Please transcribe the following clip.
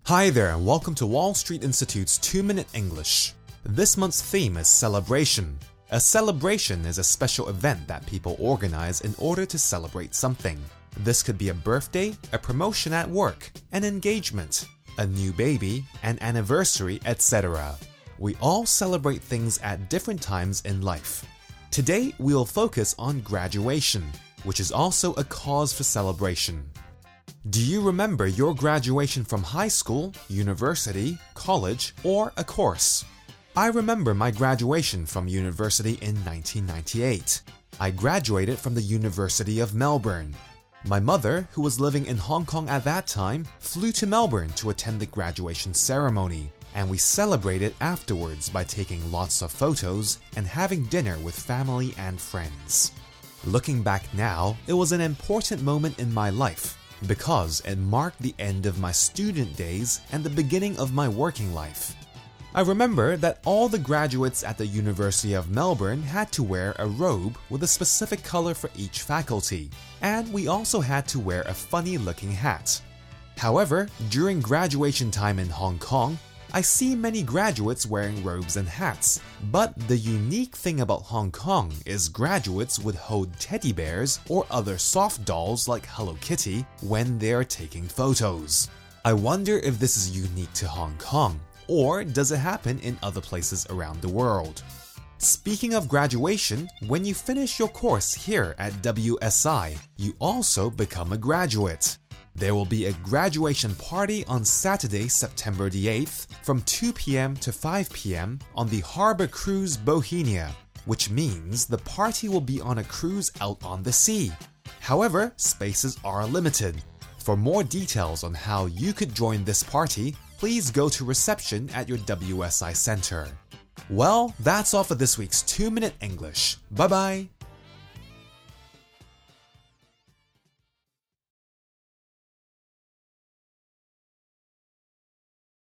Hi there and welcome to Wall Street Institute's 2-Minute English. This month's theme is celebration. A celebration is a special event that people organize in order to celebrate something. This could be a birthday, a promotion at work, an engagement, a new baby, an anniversary, etc. We all celebrate things at different times in life. Today, we'll focus on graduation, which is also a cause for celebration. Do you remember your graduation from high school, university, college, or a course? I remember my graduation from university in 1998. I graduated from the University of Melbourne. My mother, who was living in Hong Kong at that time, flew to Melbourne to attend the graduation ceremony, and we celebrated afterwards by taking lots of photos and having dinner with family and friends. Looking back now, it was an important moment in my life, because it marked the end of my student days and the beginning of my working life. I remember that all the graduates at the University of Melbourne had to wear a robe with a specific color for each faculty, and we also had to wear a funny-looking hat. However, during graduation time in Hong Kong, I see many graduates wearing robes and hats, but the unique thing about Hong Kong is graduates would hold teddy bears or other soft dolls like Hello Kitty when they are taking photos. I wonder if this is unique to Hong Kong, or does it happen in other places around the world? Speaking of graduation, when you finish your course here at WSI, you also become a graduate. There will be a graduation party on Saturday, September the 8th from 2 p.m. to 5 p.m. on the Harbour Cruise Bohemia, which means the party will be on a cruise out on the sea. However, spaces are limited. For more details on how you could join this party, please go to reception at your WSI center. Well, that's all for this week's 2-Minute English. Bye-bye!